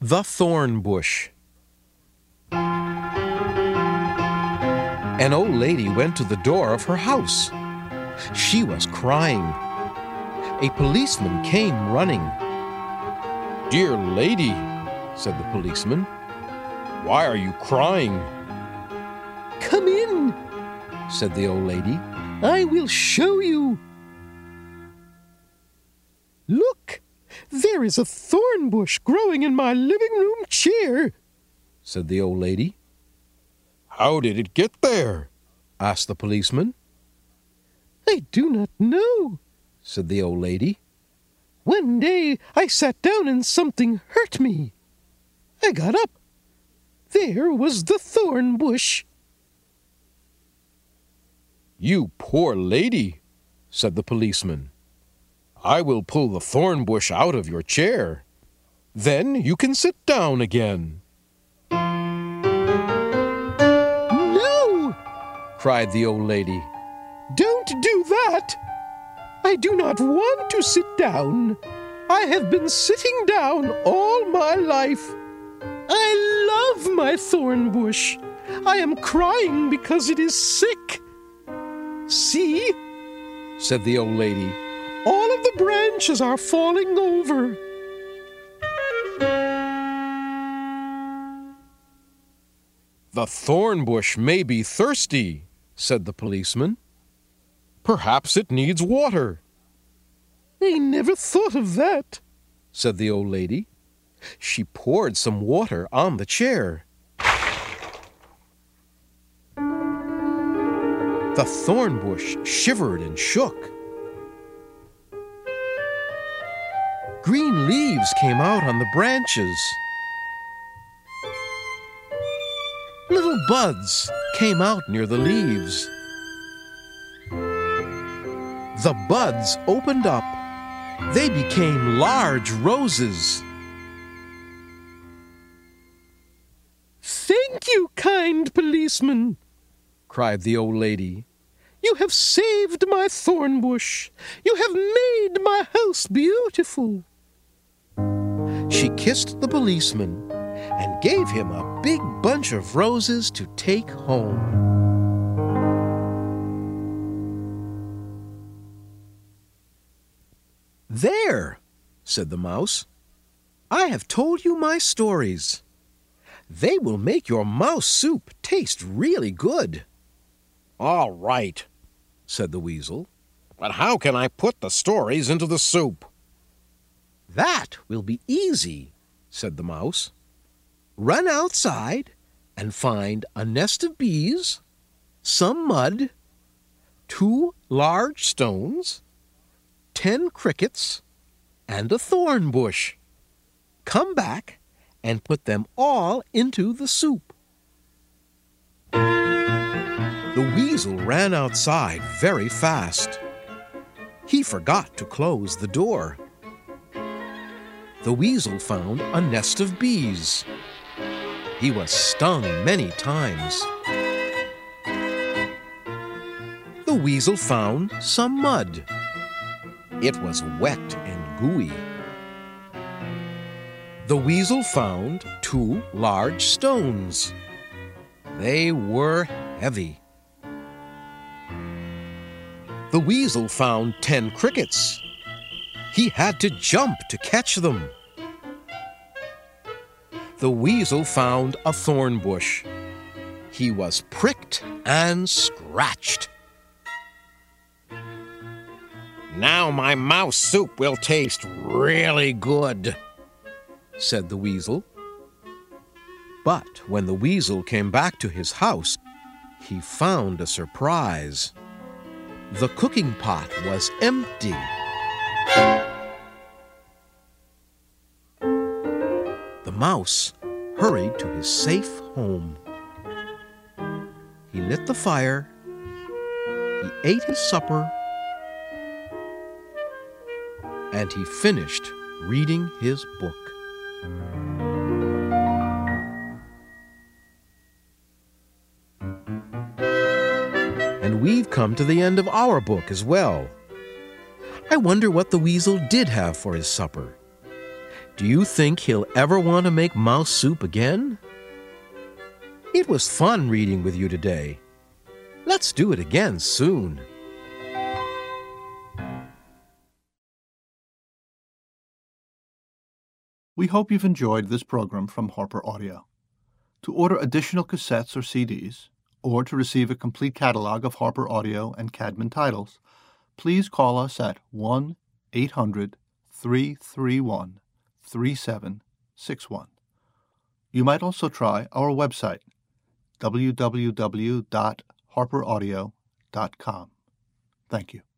The Thorn Bush. An old lady went to the door of her house. She was crying. A policeman came running. "Dear lady," said the policeman, "why are you crying?" "Come in," said the old lady. "I will show you." "Look, there is a thorn bush growing in my living room chair," said the old lady. "How did it get there?" asked the policeman. "I do not know," said the old lady. "One day I sat down and something hurt me. I got up. There was the thorn bush." "You poor lady," said the policeman. "I will pull the thorn bush out of your chair. Then you can sit down again." "No!" cried the old lady. "Don't do that. I do not want to sit down. I have been sitting down all my life. I love my thorn bush. I am crying because it is sick. See," said the old lady, "all of the branches are falling over." "The thorn bush may be thirsty," said the policeman. "Perhaps it needs water." "I never thought of that," said the old lady. She poured some water on the chair. The thorn bush shivered and shook. Green leaves came out on the branches. Little buds came out near the leaves. The buds opened up. They became large roses. "Thank you, kind policeman," cried the old lady. "You have saved my thorn bush. You have made my house beautiful." She kissed the policeman and gave him a big bunch of roses to take home. "There," said the mouse. "I have told you my stories. They will make your mouse soup taste really good." "All right," said the weasel. "But how can I put the stories into the soup?" "That will be easy," said the mouse. "Run outside and find a nest of bees, some mud, 2 large stones, 10 crickets, and a thorn bush. Come back and put them all into the soup." The weasel ran outside very fast. He forgot to close the door. The weasel found a nest of bees. He was stung many times. The weasel found some mud. It was wet and gooey. The weasel found 2 large stones. They were heavy. The weasel found 10 crickets. He had to jump to catch them. The weasel found a thorn bush. He was pricked and scratched. "Now my mouse soup will taste really good," said the weasel. But when the weasel came back to his house, he found a surprise. The cooking pot was empty. The mouse hurried to his safe home. He lit the fire. He ate his supper. And he finished reading his book. And we've come to the end of our book as well. I wonder what the weasel did have for his supper. Do you think he'll ever want to make mouse soup again? It was fun reading with you today. Let's do it again soon. We hope you've enjoyed this program from Harper Audio. To order additional cassettes or CDs, or to receive a complete catalog of Harper Audio and Cadman titles, please call us at 1-800-331-3761. You might also try our website, www.harperaudio.com. Thank you.